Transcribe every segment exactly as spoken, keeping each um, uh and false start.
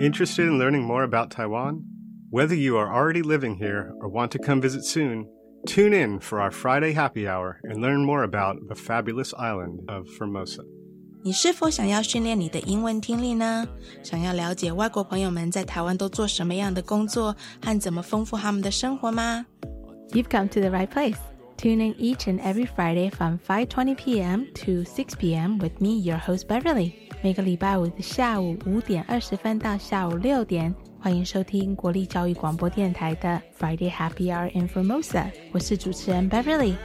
Interested in learning more about Taiwan? Whether you are already living here or want to come visit soon, tune in for our Friday happy hour and learn more about the fabulous island of Formosa. 你是否想要训练你的英文听力呢？想要了解外国朋友们在台湾都做什么样的工作和怎么丰富他们的生活吗？ You've come to the right place. Tune in each and every Friday from five twenty p.m. to six p.m. with me, your host Beverly. 每个礼拜五的下午五点二十分到下午六点，欢迎收聽國立教育廣播電台的 Friday Happy Hour in Formosa. 我是主持人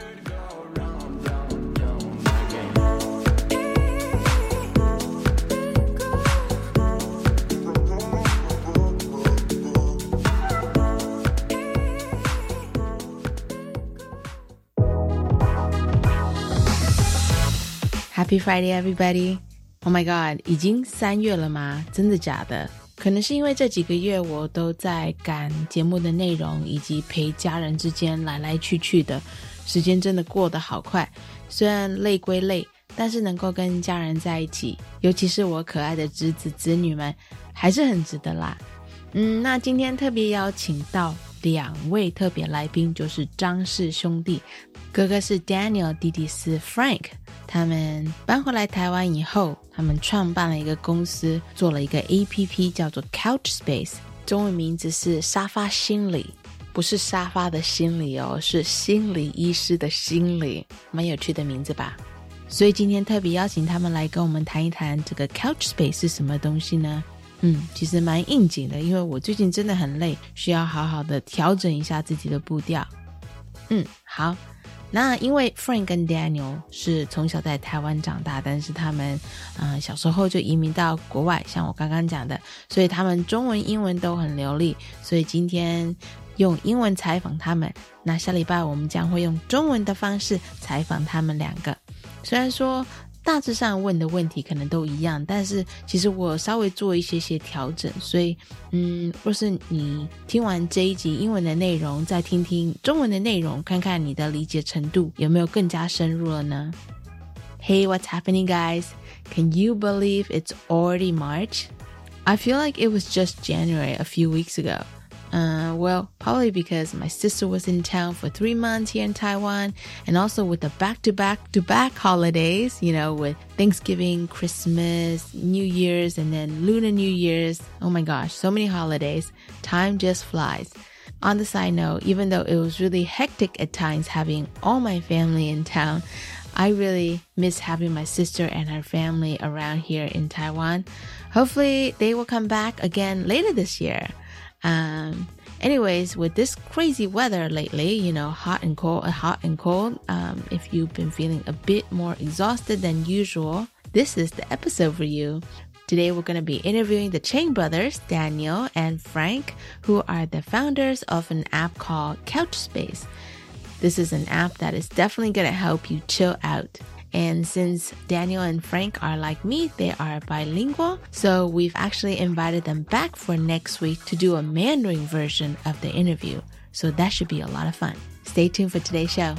Beverly.Happy Friday, everybody! Oh my god, 已經三月了嗎？真的假的？可能是因為這幾個月我都在趕節目的內容以及陪家人之間來來去去的，時間真的過得好快。雖然累歸累，但是能夠跟家人在一起，尤其是我可愛的侄子侄女們，還是很值得啦。嗯，那今天特別邀請到兩位特別來賓，就是張氏兄弟，哥哥是 Daniel， 弟弟是 Frank。他们搬回来台湾以后，他们创办了一个公司，做了一个 A P P 叫做 Couchspace， 中文名字是沙发心理，不是沙发的心理哦，是心理医师的心理，蛮有趣的名字吧。所以今天特别邀请他们来跟我们谈一谈这个 Couchspace 是什么东西呢？嗯，其实蛮应景的，因为我最近真的很累，需要好好的调整一下自己的步调。嗯，好。那因为 Frank 跟 Daniel 是从小在台湾长大，但是他们呃小时候就移民到国外，像我刚刚讲的，所以他们中文英文都很流利，所以今天用英文采访他们，那下礼拜我们将会用中文的方式采访他们两个。虽然说大致上问的问题可能都一样，但是其实我稍微做一些些调整，所以嗯，若是你听完这一集英文的内容，再听听中文的内容，看看你的理解程度有没有更加深入了呢？ Hey, what's happening, guys? Can you believe it's already March? I feel like it was just January a few weeks ago.Uh, well, probably because my sister was in town for three months here in Taiwan, and also with the back-to-back-to-back holidays, you know, with Thanksgiving, Christmas, New Year's, and then Lunar New Year's. Oh my gosh, so many holidays. Time just flies. On the side note, even though it was really hectic at times having all my family in town, I really miss having my sister and her family around here in Taiwan. Hopefully, they will come back again later this year.Um, anyways, with this crazy weather lately, you know, hot and cold, hot and cold, um, if you've been feeling a bit more exhausted than usual, this is the episode for you. Today, we're going to be interviewing the Chang brothers, Daniel and Frank, who are the founders of an app called Couchspace. This is an app that is definitely going to help you chill out.And since Daniel and Frank are like me, they are bilingual, so we've actually invited them back for next week to do a Mandarin version of the interview. So that should be a lot of fun. Stay tuned for today's show.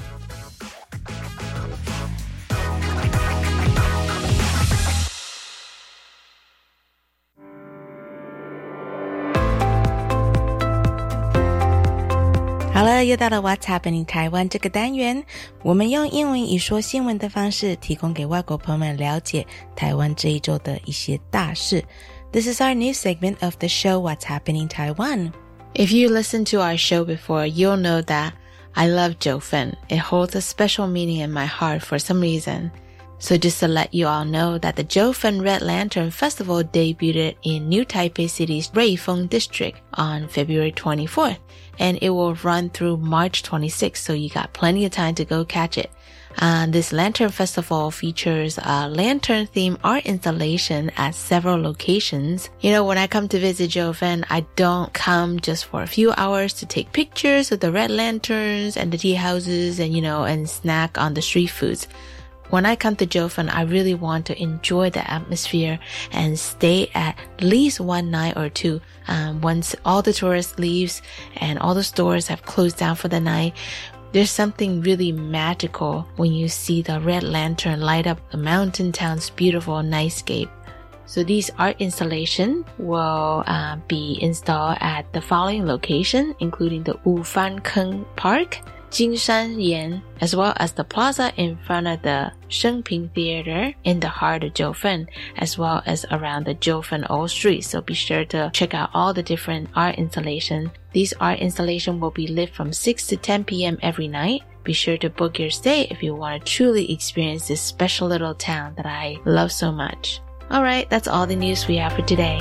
好了，又到了 What's Happening 台湾这个单元，我们用英文以说新闻的方式，提供给外国朋友们了解台湾这一周的一些大事。This is our new segment of the show What's Happening Taiwan. If you listened to our show before, you'll know that I love Jiufen. It holds a special meaning in my heart for some reason.So just to let you all know that the Jiufen Red Lantern Festival debuted in New Taipei City's Ruifeng District on February twenty-fourth, and it will run through March twenty-sixth, so you got plenty of time to go catch it. Uh, this Lantern Festival features a lantern-themed art installation at several locations. You know, when I come to visit Jiufen, I don't come just for a few hours to take pictures of the red lanterns and the tea houses and, you know, and snack on the street foods.When I come to Jiufen, I really want to enjoy the atmosphere and stay at least one night or two. Um, once all the tourists leaves and all the stores have closed down for the night, there's something really magical when you see the red lantern light up the mountain town's beautiful nightscape. So these art installations will uh, be installed at the following location, including the Wufan Park, Jinshan as well as the plaza in front of the Shengping Theater in the heart of Jiufen, as well as around the Jiufen Old Street. So be sure to check out all the different art installations. These art installations will be lit from six to ten p.m. every night. Be sure to book your stay if you want to truly experience this special little town that I love so much. Alright, that's all the news we have for today.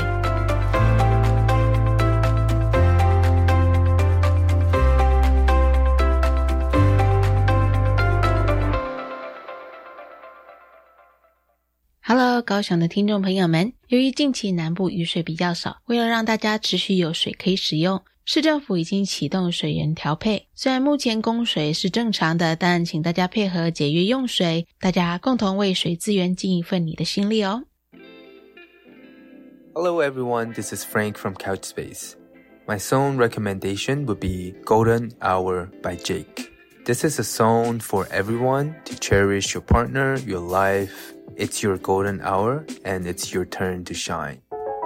Hello， 高雄的听众朋友们，由于近期南部雨水比较少，为了让大家持续有水可以使用，市政府已经启动水源调配。虽然目前供水是正常的，但请大家配合节约用水，大家共同为水资源尽一份你的心力哦。 Hello everyone, this is Frank from Couchspace. My song recommendation would be Golden Hour by Jake. This is a song for everyone to cherish your partner, your life. It's your golden hour and it's your turn to shine.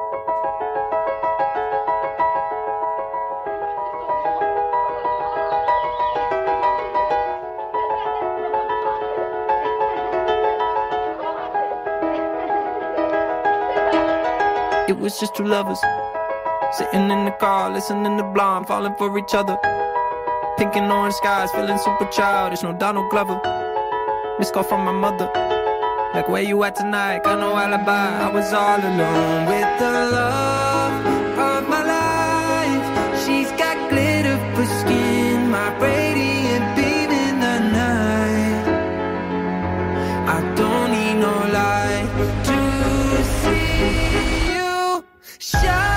It was just two lovers sitting in the car, listening to Blonde, falling for each other. Pink and orange skies, feeling super childish, no Donald Glover. Missed call from my mother, like where you at tonight, got no alibi. I was all alone with the love of my life. She's got glitter for skin, my radiant beam in the night. I don't need no light to see you shine.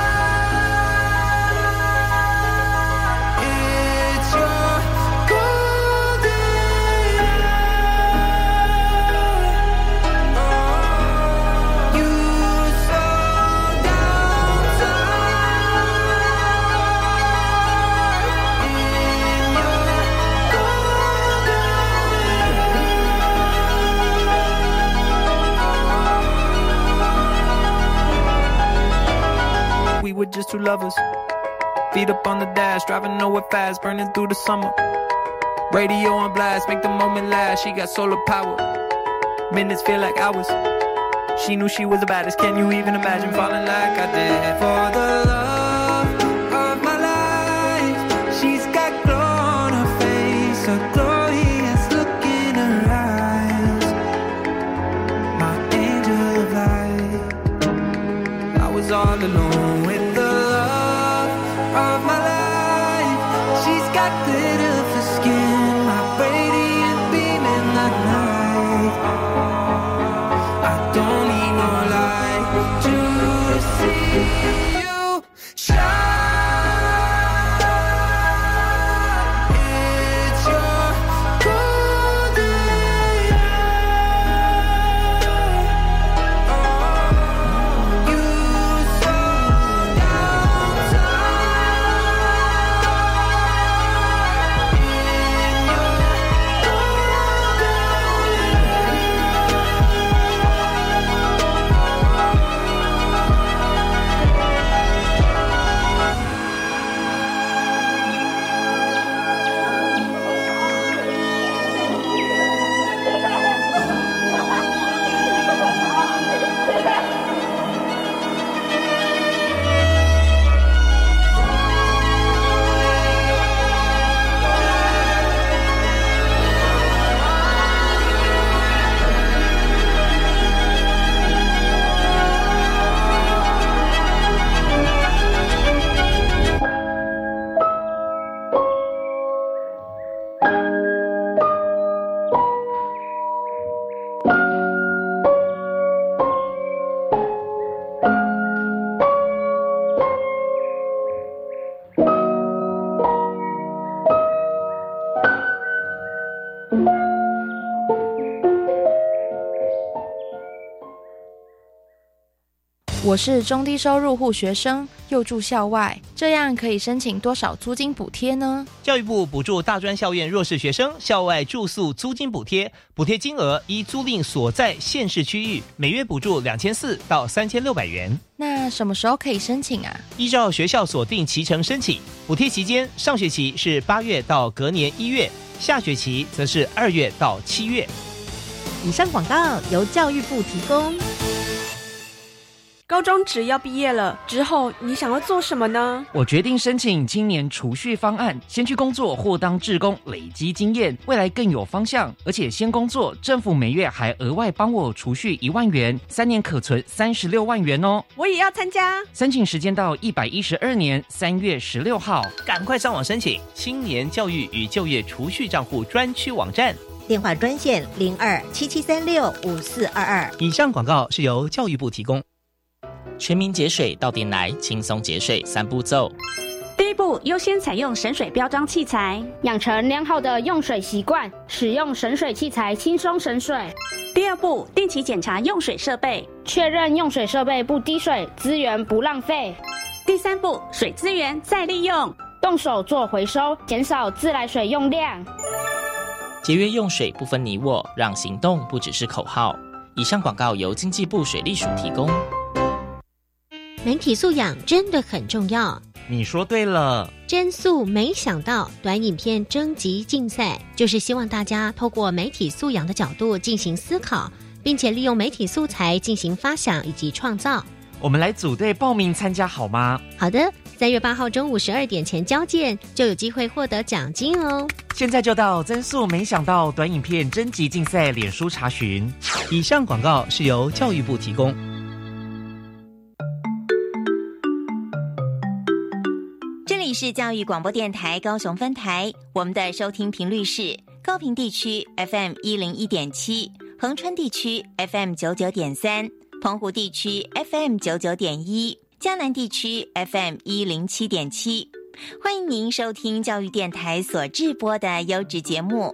It's your golden hour. You slow down time in your golden hour. We were just two lovers, feet up on the dash, driving nowhere fast, burning through the summer. Radio on blast, make the moment last. She got solar power, minutes feel like hours. She knew she was the baddest. Can you even imagine falling like I did? For the love of my life, she's got glow on her face, a glorious look in her eyes. My angel of light. I was all alone with the love of my life. She's got glitter for skin, my radiant beam in the night. I don't need no light to see you shine. It's your golden hour. You slow down time in 我是中低收入户学生，又住校外，这样可以申请多少租金补贴呢？ 教育部补助大专校院弱势学生校外住宿租金补贴，补贴金额依租赁所在县市区域，每月补助两千四到三千六百元。 那什么时候可以申请啊？ 依照学校所定期程申请，补贴期间上学期是八月到隔年一月，下学期则是二月到七月。 以上广告由教育部提供。 高中职要毕业了之后，你想要做什么呢？ 我决定申请青年储蓄方案，先去工作或当志工，累积经验，未来更有方向。而且先工作，政府每月还额外帮我储蓄一万元，三年可存三十六万元哦。 我也要参加。 申请时间到一百一十二年三月十六号， 赶快上网申请青年教育与就业储蓄账户专区网站。 电话专线零二七七三六五四二二。 以上广告是由教育部提供。 全民节水到店来，轻松节水三步骤。 第一步，优先采用省水标章器材， 养成良好的用水习惯，使用省水器材轻松省水。 第二步，定期检查用水设备， 确认用水设备不滴水，资源不浪费。 第三步，水资源再利用， 动手做回收，减少自来水用量。 节约用水不分你我，让行动不只是口号。以上广告由经济部水利署提供。 媒体素养真的很重要。 你说对了。 真素没想到短影片征集竞赛，就是希望大家透过媒体素养的角度进行思考，并且利用媒体素材进行发想以及创造。 我们来组队报名参加好吗？ 好的，三月八号中午十二点前交件，就有机会获得奖金哦。 现在就到真素没想到短影片征集竞赛脸书查询。 以上广告是由教育部提供。 这里是教育广播电台高雄分台，我们的收听频率是高屏地区 F M 一零一点七，恒春地区 F M 九九点三，澎湖地区 F M 九九点一，嘉南地区 F M 一零七点七。欢迎您收听教育电台所制播的优质节目。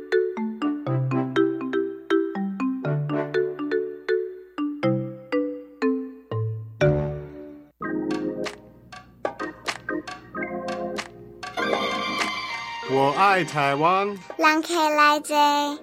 我爱台湾。 人客来坐。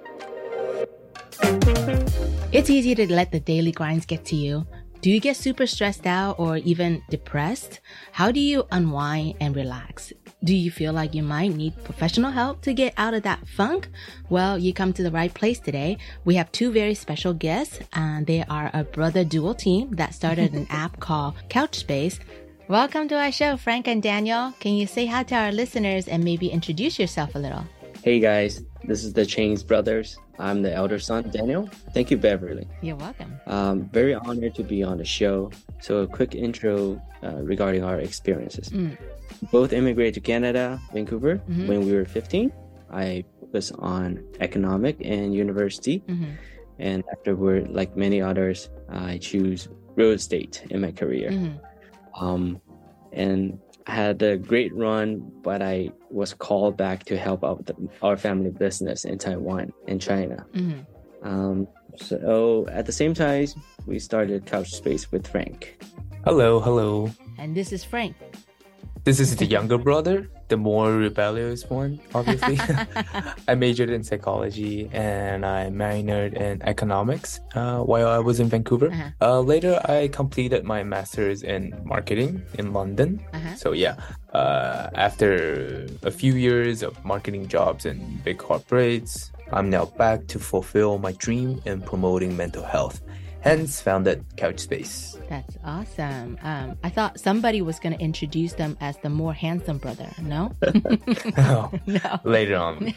It's easy to let the daily grinds get to you. Do you get super stressed out or even depressed? How do you unwind and relax? Do you feel like you might need professional help to get out of that funk? Well, you come to the right place today. We have two very special guests, and they are a brother duo team that started an app called Couchspace. Welcome to our show, Frank and Daniel. Can you say hi to our listeners and maybe introduce yourself a little? Hey guys, this is the Chains brothers. I'm the elder son, Daniel. Thank you, Beverly. You're welcome. Um, very honored to be on the show. So a quick intro uh, regarding our experiences. Mm. Both immigrated to Canada, Vancouver, mm-hmm. when we were fifteen. I focused on economic and university. Mm-hmm. And afterward, like many others, I choose real estate in my career. Mm-hmm. Um, and I had a great run, but I was called back to help out the, our family business in Taiwan and China. Mm-hmm. Um, so at the same time, we started Couchspace with Frank. Hello, hello. And this is Frank. This is the younger brother, the more rebellious one, obviously. I majored in psychology and I minored in economics uh, while I was in Vancouver. Uh-huh. Uh, later, I completed my master's in marketing in London. Uh-huh. So yeah, uh, after a few years of marketing jobs in big corporates, I'm now back to fulfill my dream in promoting mental health. Hence founded Couchspace. That's awesome. Um, I thought somebody was going to introduce them as the more handsome brother. No? no. no. Later on.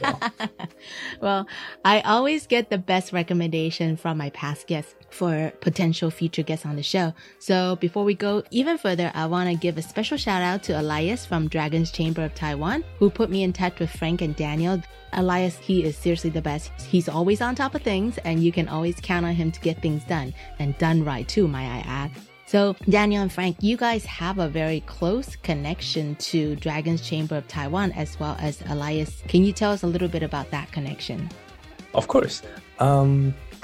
Well, I always get the best recommendation from my past guests for potential future guests on the show. So before we go even further, I want to give a special shout out to Elias from Dragon's Chamber of Taiwan, who put me in touch with Frank and Daniel. Elias, he is seriously the best. He's always on top of things, and you can always count on him to get things done, and done right too, might I add. So Daniel and Frank, you guys have a very close connection to Dragon's Chamber of Taiwan as well as Elias. Can you tell us a little bit about that connection? Of course. Um,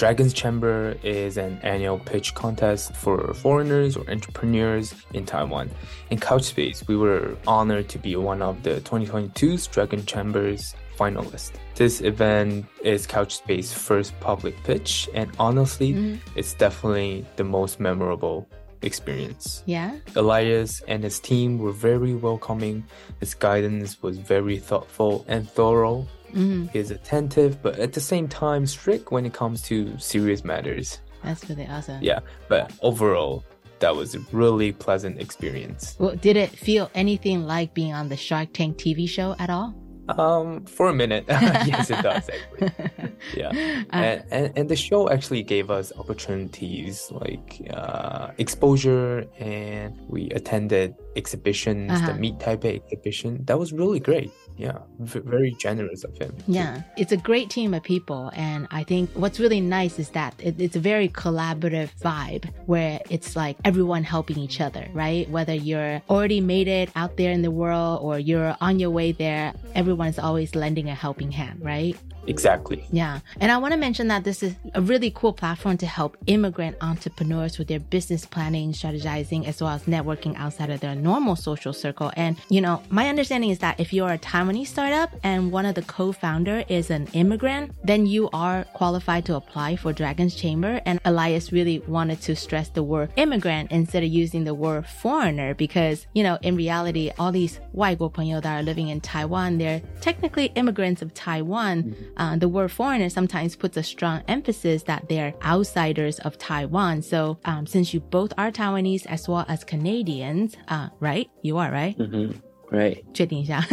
Dragon's Chamber is an annual pitch contest for foreigners or entrepreneurs in Taiwan. In Couchspace, we were honored to be one of the twenty twenty-two's Dragon Chamber's finalists. This event is Couchspace's first public pitch, and honestly, mm-hmm. it's definitely the most memorable experience. Yeah. Elias and his team were very welcoming. His guidance was very thoughtful and thorough. Mm-hmm. He is attentive, but at the same time strict when it comes to serious matters. That's really awesome. Yeah, but overall, that was a really pleasant experience. Well, did it feel anything like being on the Shark Tank T V show at all? Um, for a minute, yes, it does actually. Yeah, uh, and, and and the show actually gave us opportunities like uh, exposure, and we attended exhibitions, uh-huh. the Meet Taipei exhibition. That was really great. Yeah, v- very generous of him. Yeah, it's a great team of people, and I think what's really nice is that it, it's a very collaborative vibe where it's like everyone helping each other, right? Whether you're already made it out there in the world or you're on your way there, everyone's always lending a helping hand, right? Exactly. Yeah. And I want to mention that this is a really cool platform to help immigrant entrepreneurs with their business planning, strategizing, as well as networking outside of their normal social circle. And, you know, my understanding is that if you're a Taiwanese startup and one of the co-founder is an immigrant, then you are qualified to apply for Dragon's Chamber. And Elias really wanted to stress the word immigrant instead of using the word foreigner because, you know, in reality, all these 外国朋友 that are living in Taiwan, they're technically immigrants of Taiwan. Mm-hmm. Uh, the word foreigner sometimes puts a strong emphasis that they're outsiders of Taiwan. So um, since you both are Taiwanese as well as Canadians, uh, right? You are, right? Mm-hmm. Right. 确定一下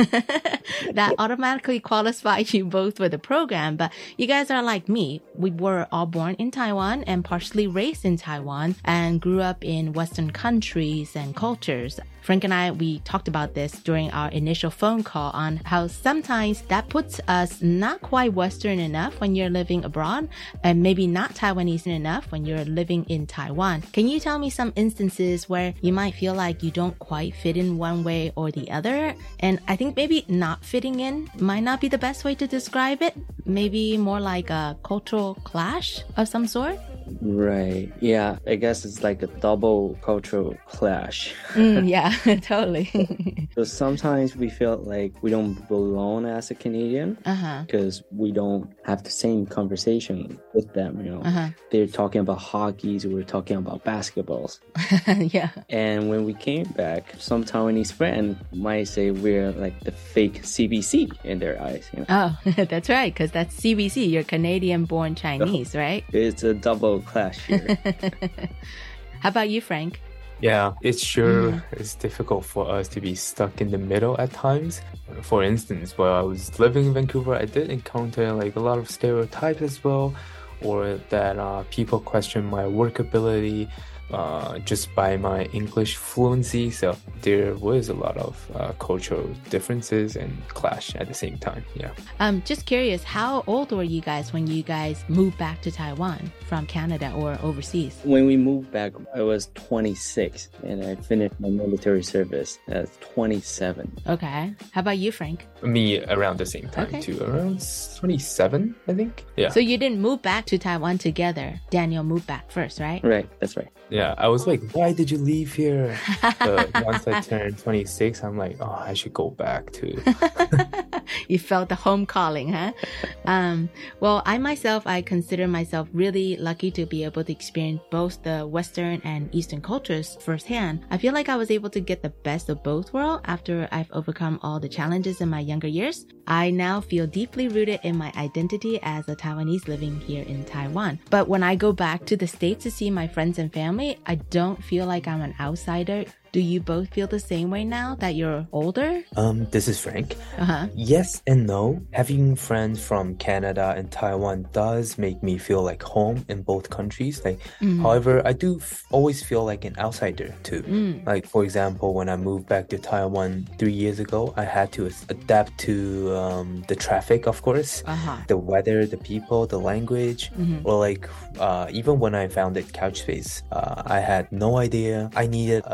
That automatically qualifies you both for the program. But you guys are like me. We were all born in Taiwan and partially raised in Taiwan and grew up in Western countries and cultures. Frank and I, we talked about this during our initial phone call on how sometimes that puts us not quite Western enough when you're living abroad and maybe not Taiwanese enough when you're living in Taiwan. Can you tell me some instances where you might feel like you don't quite fit in one way or the other? And I think maybe not fitting in might not be the best way to describe it. Maybe more like a cultural clash of some sort? Right. Yeah. I guess it's like a double cultural clash. mm, yeah, totally. So sometimes we feel like we don't belong as a Canadian uh-huh. because we don't have the same conversation with them. You know, uh-huh. they're talking about hockey, so we're talking about basketballs. Yeah. And when we came back, some Taiwanese friend might say we're like the fake C B C in their eyes. You know? Oh, that's right, because that's C B C. You're Canadian-born Chinese, oh, right? It's a double clash here. How about you, Frank? Yeah, it's sure mm. it's difficult for us to be stuck in the middle at times. For instance, while I was living in Vancouver, I did encounter like a lot of stereotypes as well, or that uh, people question my work ability uh, just by my English fluency. So there was a lot of uh, cultural differences and clash at the same time. Yeah. Um, just curious, how old were you guys when you guys moved back to Taiwan from Canada or overseas? When we moved back, I was twenty-six and I finished my military service at twenty-seven. Okay. How about you, Frank? Me around the same time okay. too, around twenty-seven, I think. Yeah. So you didn't move back to Taiwan together. Daniel moved back first, right? Right. That's right. Yeah, I was like, why did you leave here? But once I turned twenty-six, I'm like, oh, I should go back too. You felt the home calling, huh? um, well, I myself, I consider myself really lucky to be able to experience both the Western and Eastern cultures firsthand. I feel like I was able to get the best of both worlds after I've overcome all the challenges in my younger years. I now feel deeply rooted in my identity as a Taiwanese living here in Taiwan. But when I go back to the States to see my friends and family, I don't feel like I'm an outsider. Do you both feel the same way now that you're older? Um, this is Frank. Uh-huh. Yes and no. Having friends from Canada and Taiwan does make me feel like home in both countries. Like, mm. however, I do f- always feel like an outsider too. Mm. Like, for example, when I moved back to Taiwan three years ago, I had to adapt to um, the traffic, of course, uh-huh. the weather, the people, the language. Mm-hmm. Or like, uh, even when I founded Couchspace, uh, I had no idea. I needed uh, in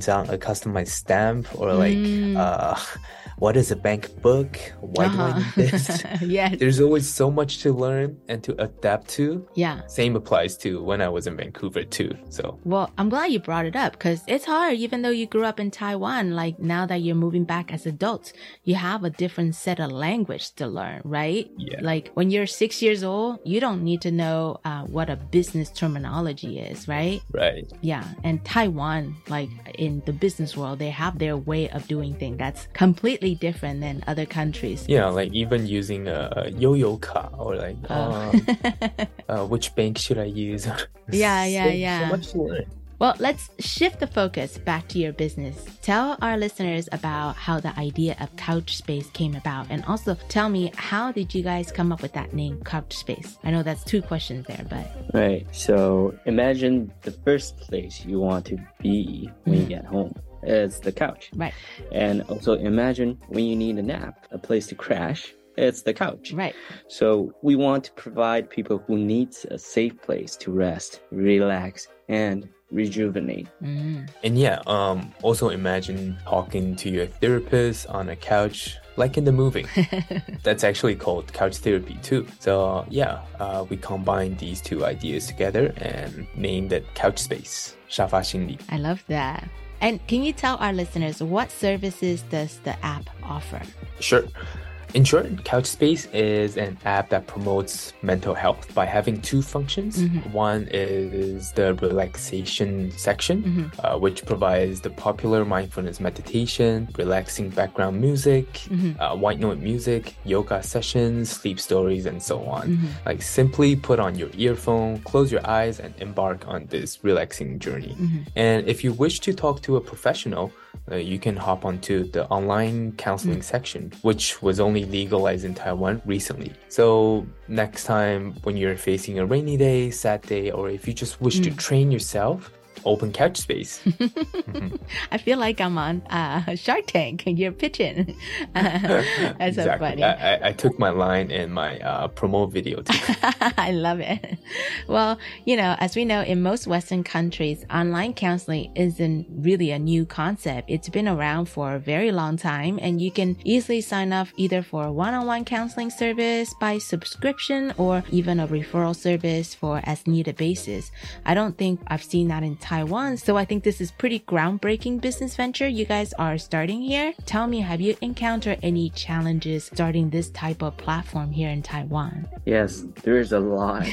章 a customized stamp or like mm. uh what is a bank book? Why uh-huh. do I need this? Yes. There's always so much to learn and to adapt to. Yeah. Same applies to when I was in Vancouver too. So well, I'm glad you brought it up because it's hard even though you grew up in Taiwan. Like now that you're moving back as adults, you have a different set of language to learn, right? Yeah. Like when you're six years old, you don't need to know uh, what a business terminology is, right? Right. Yeah. And Taiwan, like in the business world, they have their way of doing things that's completely different than other countries. Yeah, like even using a yo-yo car or like oh. uh, uh, which bank should I use? yeah, yeah, so, yeah. So much to learn. Well, let's shift the focus back to your business. Tell our listeners about how the idea of Couchspace came about, and also tell me, how did you guys come up with that name, Couchspace? I know that's two questions there, but... Right, so imagine the first place you want to be when mm-hmm. you get home. It's the couch. Right. And also imagine when you need a nap, a place to crash, it's the couch. Right. So we want to provide people who need a safe place to rest, relax, and rejuvenate. Mm. And yeah, um, also imagine talking to your therapist on a couch, like in the movie. That's actually called couch therapy too. So yeah, uh, we combine these two ideas together and named it Couchspace, 沙发心理. I love that. And can you tell our listeners what services does the app offer? Sure. In short, Couchspace is an app that promotes mental health by having two functions. Mm-hmm. One is the relaxation section, mm-hmm. uh, which provides the popular mindfulness meditation, relaxing background music, mm-hmm. uh, white noise music, yoga sessions, sleep stories, and so on. Mm-hmm. Like simply put on your earphone, close your eyes, and embark on this relaxing journey. Mm-hmm. And if you wish to talk to a professional, Uh, you can hop onto the online counseling mm. section, which was only legalized in Taiwan recently. So next time when you're facing a rainy day, sad day, or if you just wish mm. to train yourself, open Couchspace. mm-hmm. I feel like I'm on uh, Shark Tank and you're pitching. Uh, that's exactly. so funny. I, I, I took my line in my uh, promo video too. I love it. Well, you know, as we know, in most Western countries, online counseling isn't really a new concept. It's been around for a very long time, and you can easily sign up either for a one-on-one counseling service by subscription or even a referral service for as needed basis. I don't think I've seen that in Taiwan, so I think this is pretty groundbreaking business venture you guys are starting here. Tell me, have you encountered any challenges starting this type of platform here in Taiwan? Yes, there is a lot.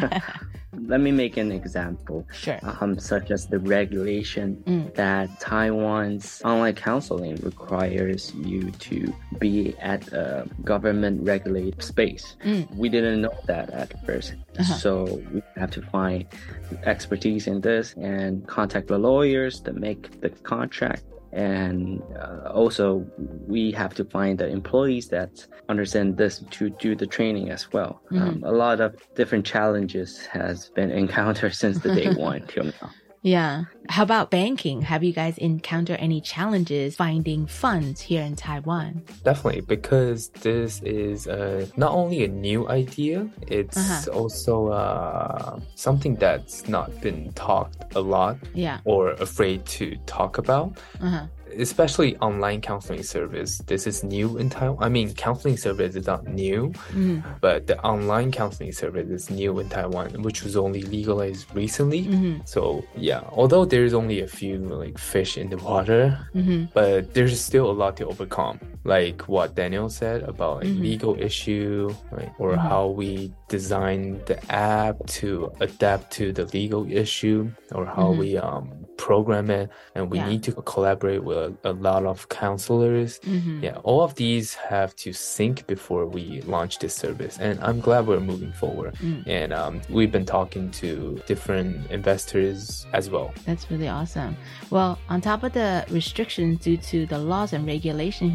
Let me make an example. Sure. Um, such as the regulation mm. that Taiwan's online counseling requires you to be at a government-regulated space. Mm. We didn't know that at first. Uh-huh. So we have to find expertise in this and contact the lawyers to make the contract. And uh, also we have to find the employees that understand this to do the training as well. Mm-hmm. Um, a lot of different challenges has been encountered since the day one till now. Yeah. How about banking? Have you guys encountered any challenges finding funds here in Taiwan? Definitely, because this is uh, not only a new idea, it's uh-huh. also uh, something that's not been talked a lot yeah. or afraid to talk about. Uh-huh. Especially online counseling service. This is new in Taiwan. I mean, counseling service is not new, mm-hmm. but the online counseling service is new in Taiwan, which was only legalized recently. Mm-hmm. So yeah, although there's only a few like fish in the water, mm-hmm. but there's still a lot to overcome. Like what Daniel said about like, mm-hmm. legal issue, right? Or mm-hmm. how we design the app to adapt to the legal issue, or how mm-hmm. we um program it, and we yeah. need to collaborate with a, a lot of counselors. Mm-hmm. Yeah, all of these have to sync before we launch this service, and I'm glad we're moving forward. Mm. And um, we've been talking to different investors as well. That's really awesome. Well, on top of the restrictions due to the laws and regulation here, I think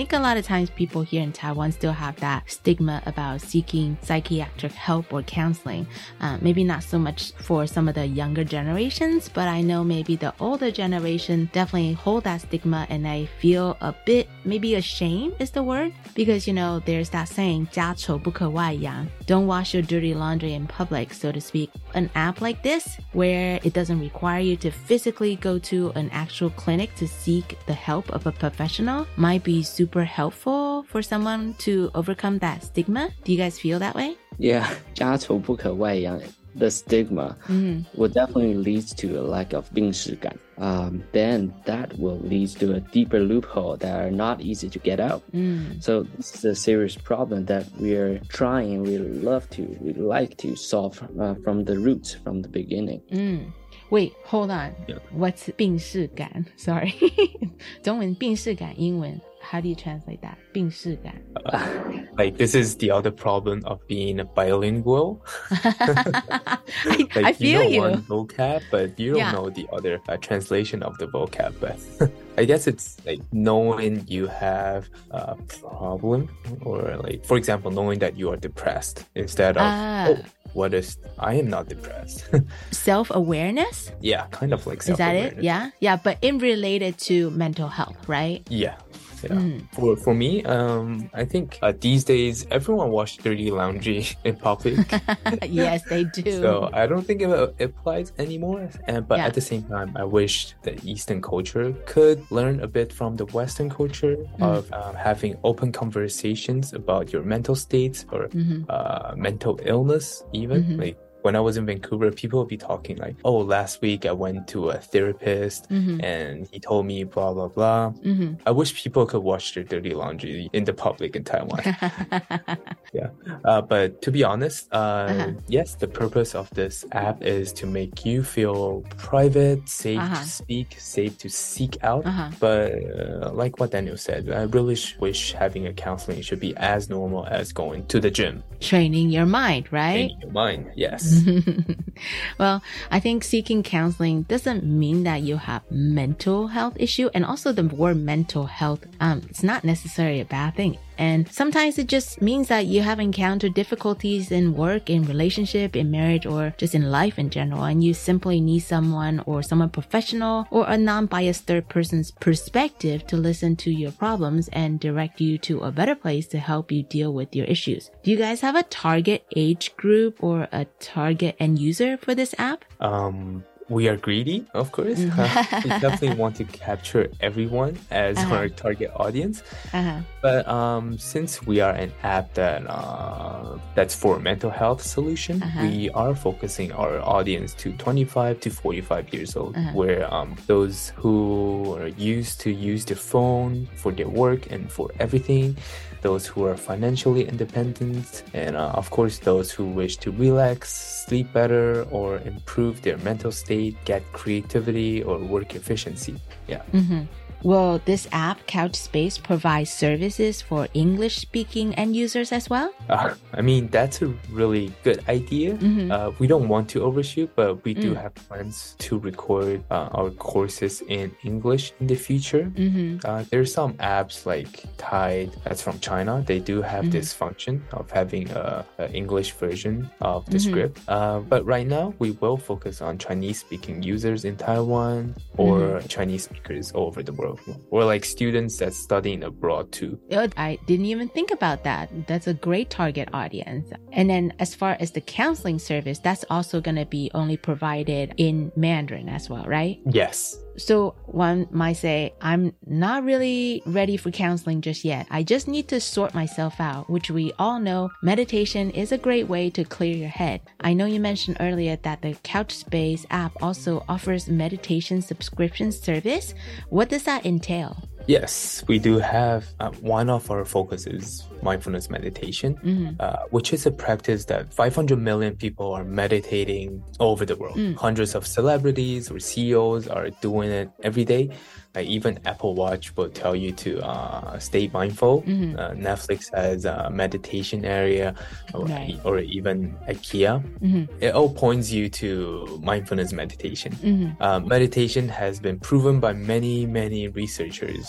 think a lot of times people here in Taiwan still have that stigma about seeking psychiatric help or counseling. Uh, maybe not so much for some of the younger generations, but I know maybe the older generation definitely hold that stigma, and I feel a bit maybe ashamed is the word, because you know there's that saying 家丑不可外扬, don't wash your dirty laundry in public, so to speak. An app like this where it doesn't require you to physically go to an actual clinic to seek the help of a professional might be super helpful for someone to overcome that stigma. Do you guys feel that way? Yeah, 家丑不可外扬. The stigma mm-hmm. will definitely lead to a lack of 病识感. Um, then that will lead to a deeper loophole that are not easy to get out. Mm. So this is a serious problem that we are trying, we love to, we like to solve uh, from the roots, from the beginning. Mm. Wait, hold on. Yeah. What's 病识感? Sorry. 中文病识感, 英文. How do you translate that? 病识感. Uh, like this is the other problem of being a bilingual. I, like, I feel you know you. one vocab, but you don't yeah. know the other uh, translation of the vocab. But I guess it's like knowing you have a problem, or like, for example, knowing that you are depressed instead of, ah. oh, what is, I am not depressed. Self-awareness? Yeah, kind of like self-awareness. Is that it? Yeah? Yeah, but in related to mental health, right? Yeah. Yeah. Mm. For for me, um, I think uh, these days everyone wash dirty laundry in public. Yes, they do. So I don't think it, it applies anymore. And but yeah. at the same time, I wish the Eastern culture could learn a bit from the Western culture mm. of um, having open conversations about your mental states or mm-hmm. uh, mental illness, even mm-hmm. like. When I was in Vancouver, people would be talking like, oh, last week I went to a therapist mm-hmm. and he told me blah, blah, blah. Mm-hmm. I wish people could wash their dirty laundry in the public in Taiwan. Yeah. Uh, but to be honest, uh, uh-huh. yes, the purpose of this app is to make you feel private, safe uh-huh. to speak, safe to seek out. Uh-huh. But uh, like what Daniel said, I really wish having a counseling should be as normal as going to the gym. Training your mind, right? Training your mind, yes. Well, I think seeking counseling doesn't mean that you have mental health issue, and also the word mental health, um, it's not necessarily a bad thing. And sometimes it just means that you have encountered difficulties in work, in relationship, in marriage, or just in life in general, and you simply need someone or someone professional or a non-biased third person's perspective to listen to your problems and direct you to a better place to help you deal with your issues. Do you guys have a target age group or a target end user for this app? Um... We are greedy, of course. Uh, we definitely want to capture everyone as uh-huh. our target audience. Uh-huh. But um, since we are an app that uh, that's for mental health solution, uh-huh. we are focusing our audience to twenty-five to forty-five years old, uh-huh. where um, those who are used to use their phone for their work and for everything, those who are financially independent, and uh, of course those who wish to relax, sleep better, or improve their mental state, get creativity or work efficiency. Yeah. Mm-hmm. Will this app, Couchspace, provide services for English-speaking end users as well? Uh, I mean, that's a really good idea. Mm-hmm. Uh, we don't want to overshoot, but we do mm. have plans to record uh, our courses in English in the future. Mm-hmm. Uh, there's some apps like Tide, that's from China. They do have mm-hmm. this function of having a, a English version of the mm-hmm. script. Uh, but right now, we will focus on Chinese-speaking users in Taiwan or mm-hmm. Chinese speakers all over the world. Or like students that's studying abroad too. I didn't even think about that. That's a great target audience. And then as far as the counseling service, that's also going to be only provided in Mandarin as well, right? Yes. So one might say, I'm not really ready for counseling just yet. I just need to sort myself out, which we all know meditation is a great way to clear your head. I know you mentioned earlier that the Couchspace app also offers meditation subscription service. What does that entail? Yes, we do have uh, one of our focuses, mindfulness meditation, mm-hmm. uh, which is a practice that five hundred million people are meditating all over the world. Mm. Hundreds of celebrities or C E Os are doing it every day. Like even Apple Watch will tell you to uh, stay mindful. Mm-hmm. Uh, Netflix has a meditation area, or, right. or even IKEA. Mm-hmm. It all points you to mindfulness meditation. Mm-hmm. Uh, meditation has been proven by many, many researchers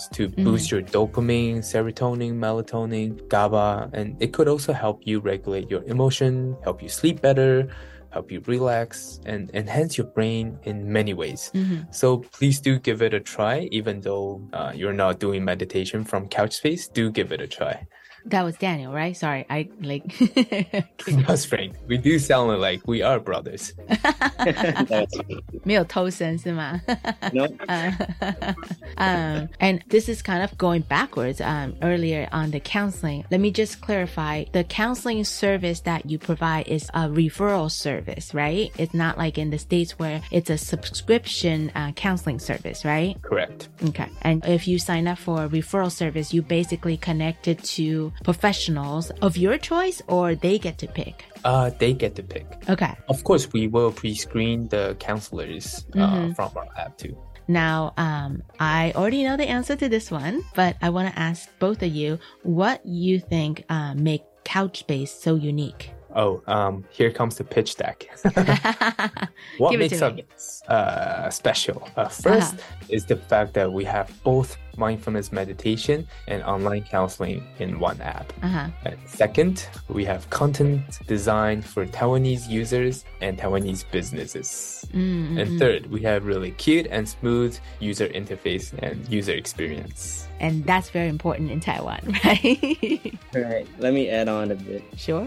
course, to boost mm-hmm. your dopamine, serotonin, melatonin, GABA, and it could also help you regulate your emotion, help you sleep better, help you relax, and enhance your brain in many ways. Mm-hmm. So please do give it a try, even though uh, you're not doing meditation from Couchspace, do give it a try. That was Daniel, right? Sorry, I like... That's Frank. We do sound like we are brothers. 没有偷生是吗？ No. um, and this is kind of going backwards um, earlier on the counseling. Let me just clarify. The counseling service that you provide is a referral service, right? It's not like in the States where it's a subscription uh, counseling service, right? Correct. Okay. And if you sign up for a referral service, you basically connect it to professionals of your choice, or they get to pick? Uh, they get to pick. Okay. Of course, we will pre-screen the counselors uh, mm-hmm. from our app too. Now, um, I already know the answer to this one, but I want to ask both of you what you think uh, make Couchspace so unique. Oh, um, here comes the pitch deck. What Give makes us uh, special? Uh, first uh-huh. is the fact that we have both mindfulness meditation and online counseling in one app. Uh-huh. And second, we have content designed for Taiwanese users and Taiwanese businesses. Mm-hmm. And third, we have really cute and smooth user interface and user experience. And that's very important in Taiwan, right? Right. Let me add on a bit. Sure.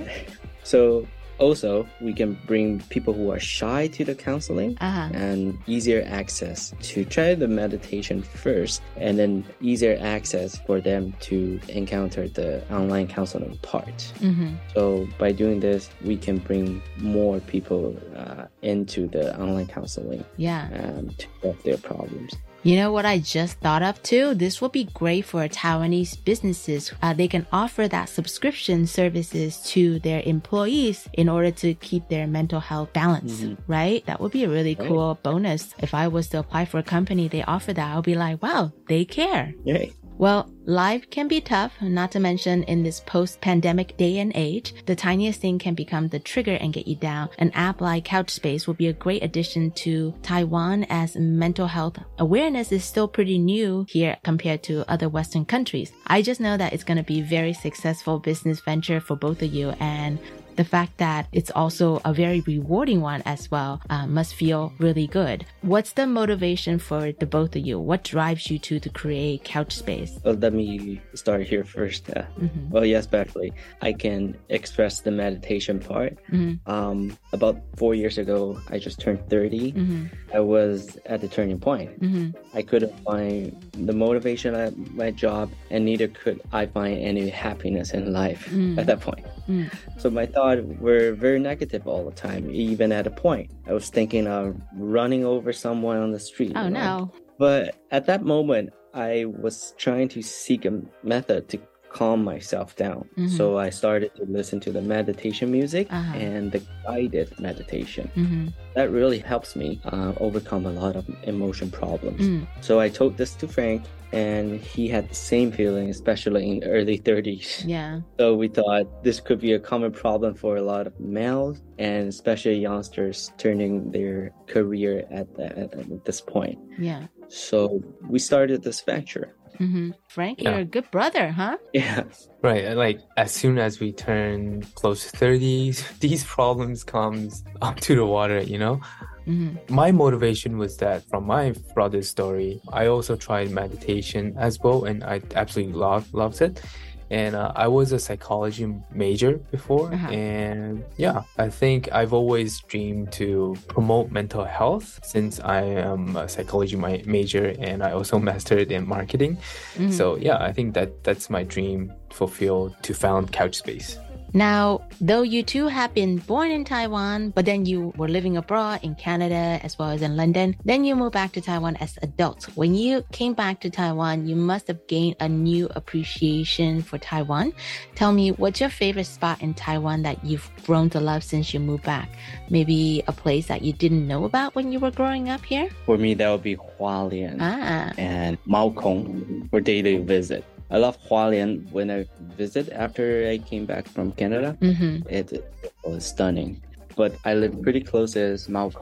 So also, we can bring people who are shy to the counseling uh-huh. and easier access to try the meditation first, and then easier access for them to encounter the online counseling part. Mm-hmm. So by doing this, we can bring more people uh, into the online counseling yeah. um, to solve their problems. You know what I just thought of too? This will be great for Taiwanese businesses. Uh, they can offer that subscription services to their employees in order to keep their mental health balanced, mm-hmm. right? That would be a really right. cool bonus. If I was to apply for a company, they offer that, I'll be like, wow, they care. Yay. Well, life can be tough, not to mention in this post-pandemic day and age, the tiniest thing can become the trigger and get you down. An app like Couchspace will be a great addition to Taiwan, as mental health awareness is still pretty new here compared to other Western countries. I just know that it's going to be a very successful business venture for both of you, and the fact that it's also a very rewarding one as well uh, must feel really good. What's the motivation for the both of you? What drives you to, to create Couchspace? Well, let me start here first. Uh, mm-hmm. Well, yes, Beverly, I can express the meditation part. Mm-hmm. Um, about four years ago, I just turned thirty. Mm-hmm. I was at the turning point. Mm-hmm. I couldn't find the motivation at my job, and neither could I find any happiness in life mm-hmm. at that point. Mm. So my thoughts were very negative all the time, even at a point. I was thinking of running over someone on the street. Oh, you know? no. But at that moment, I was trying to seek a method to calm myself down. Mm-hmm. So I started to listen to the meditation music uh-huh. and the guided meditation. Mm-hmm. That really helps me uh, overcome a lot of emotion problems. Mm. So I told this to Frank, and he had the same feeling, especially in early thirties. Yeah. So we thought this could be a common problem for a lot of males, and especially youngsters turning their career at, the, at this point. Yeah. So we started this venture. Mm-hmm. Frank, yeah. you're a good brother, huh? Yeah. Right. Like as soon as we turn close to thirties, these problems comes up to the water, you know? Mm-hmm. My motivation was that from my brother's story, I also tried meditation as well, and I absolutely loved, loved it. And uh, I was a psychology major before. Uh-huh. And yeah, I think I've always dreamed to promote mental health since I am a psychology ma- major and I also mastered in marketing. Mm-hmm. So yeah, I think that that's my dream fulfilled, to found Couchspace. Now, though you two have been born in Taiwan, but then you were living abroad in Canada as well as in London, then you moved back to Taiwan as adults. When you came back to Taiwan, you must have gained a new appreciation for Taiwan. Tell me, what's your favorite spot in Taiwan that you've grown to love since you moved back? Maybe a place that you didn't know about when you were growing up here? For me, that would be Hualien ah. and Maokong for daily visit. I love Hualien. When I visit after I came back from Canada, mm-hmm. it, it was stunning. But I live pretty close as Maokong. I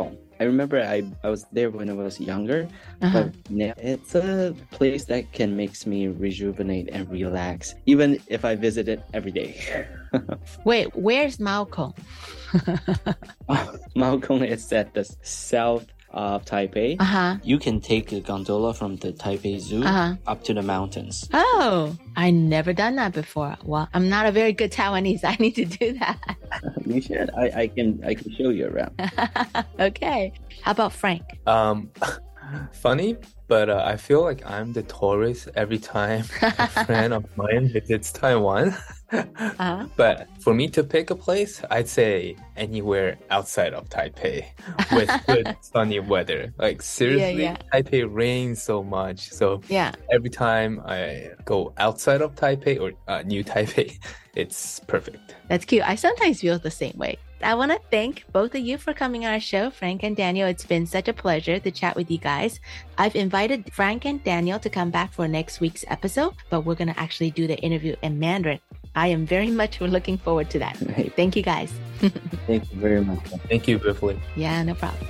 I remember I, I was there when I was younger, uh-huh. but now it's a place that can makes me rejuvenate and relax, even if I visit it every day. Wait, where's Maokong? oh, Maokong is at the south of Taipei. Uh-huh. You can take a gondola from the Taipei Zoo uh-huh. up to the mountains. Oh, I never done that before. Well, I'm not a very good Taiwanese. I need to do that. You should. I, I can I can show you around. Okay. How about Frank? Um, funny, but uh, I feel like I'm the tourist every time a friend of mine visits Taiwan. Uh-huh. But for me to pick a place, I'd say anywhere outside of Taipei with good sunny weather. Like seriously, yeah, yeah. Taipei rains so much. So yeah. every time I go outside of Taipei or uh, New Taipei, it's perfect. That's cute. I sometimes feel the same way. I want to thank both of you for coming on our show, Frank and Daniel. It's been such a pleasure to chat with you guys. I've invited Frank and Daniel to come back for next week's episode, but we're going to actually do the interview in Mandarin. I am very much looking forward to that. Right. Thank you, guys. Thank you very much. Thank you, Beverly. Yeah, no problem.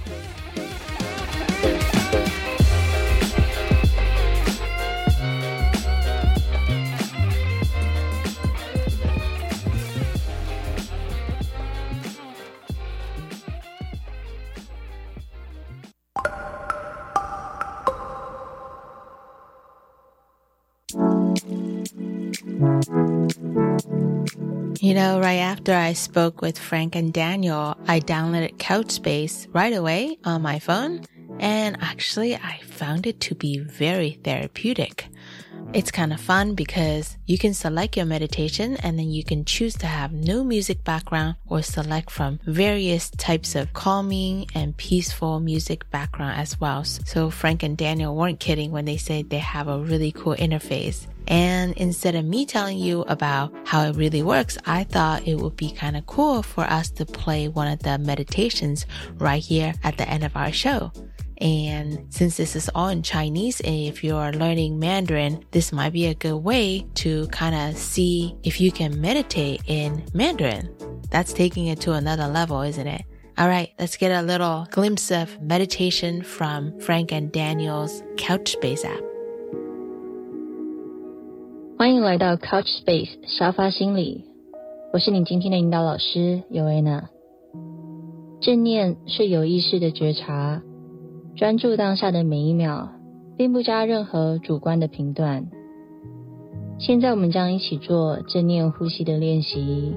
You know, right after I spoke with Frank and Daniel, I downloaded Couchspace right away on my phone, and actually I found it to be very therapeutic. It's kind of fun because you can select your meditation and then you can choose to have no music background or select from various types of calming and peaceful music background as well. So Frank and Daniel weren't kidding when they said they have a really cool interface. And instead of me telling you about how it really works, I thought it would be kind of cool for us to play one of the meditations right here at the end of our show. And since this is all in Chinese, and if you're learning Mandarin, this might be a good way to kind of see if you can meditate in Mandarin. That's taking it to another level, isn't it? All right, let's get a little glimpse of meditation from Frank and Daniel's Couchspace app. 欢迎来到 Couchspace 沙发心理，我是你今天的引导老师尤维娜。正念是有意识的觉察，专注当下的每一秒，并不加任何主观的评断。现在我们将一起做正念呼吸的练习，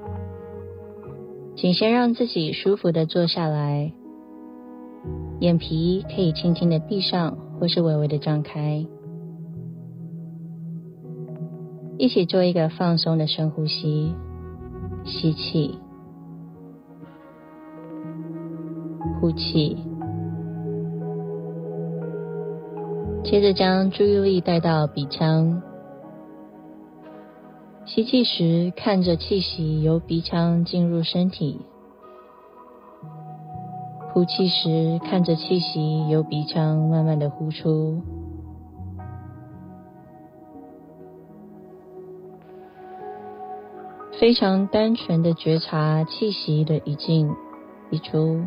请先让自己舒服的坐下来，眼皮可以轻轻的闭上或是微微的张开。一起做一个放松的深呼吸，吸气，呼气，接着将注意力带到鼻腔，吸气时看着气息由鼻腔进入身体，呼气时看着气息由鼻腔慢慢的呼出。非常单纯的觉察气息的一进一出，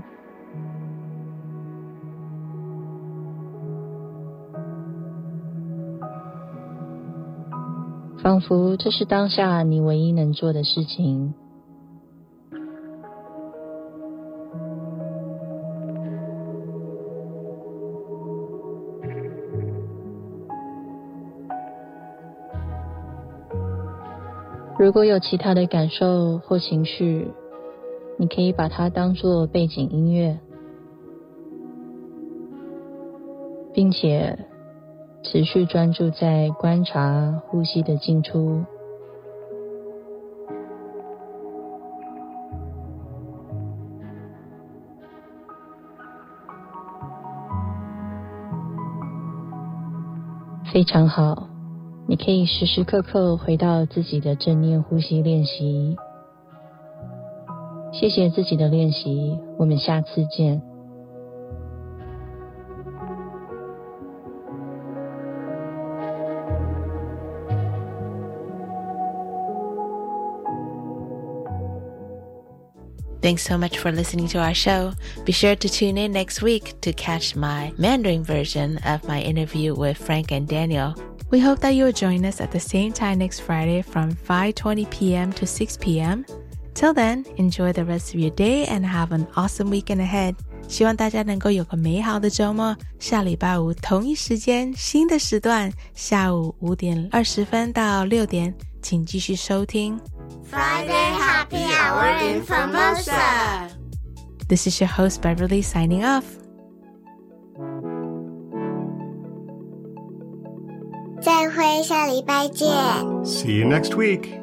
仿佛这是当下你唯一能做的事情。如果有其他的感受或情绪，你可以把它当作背景音乐，并且持续专注在观察呼吸的进出。非常好。你可以时时刻刻回到自己的正念呼吸练习。谢谢自己的练习，我们下次见。 Thanks so much for listening to our show. Be sure to tune in next week to catch my Mandarin version of my interview with Frank and Daniel. We hope that you'll join us at the same time next Friday from five twenty p.m. to six p.m. Till then, enjoy the rest of your day and have an awesome weekend ahead. 希望大家能够有个美好的周末。下礼拜五同一时间，新的时段，下午五点二十分到六点，请继续收听 Friday Happy Hour in Formosa. This is your host Beverly signing off. 再会，下礼拜见。 See you next week.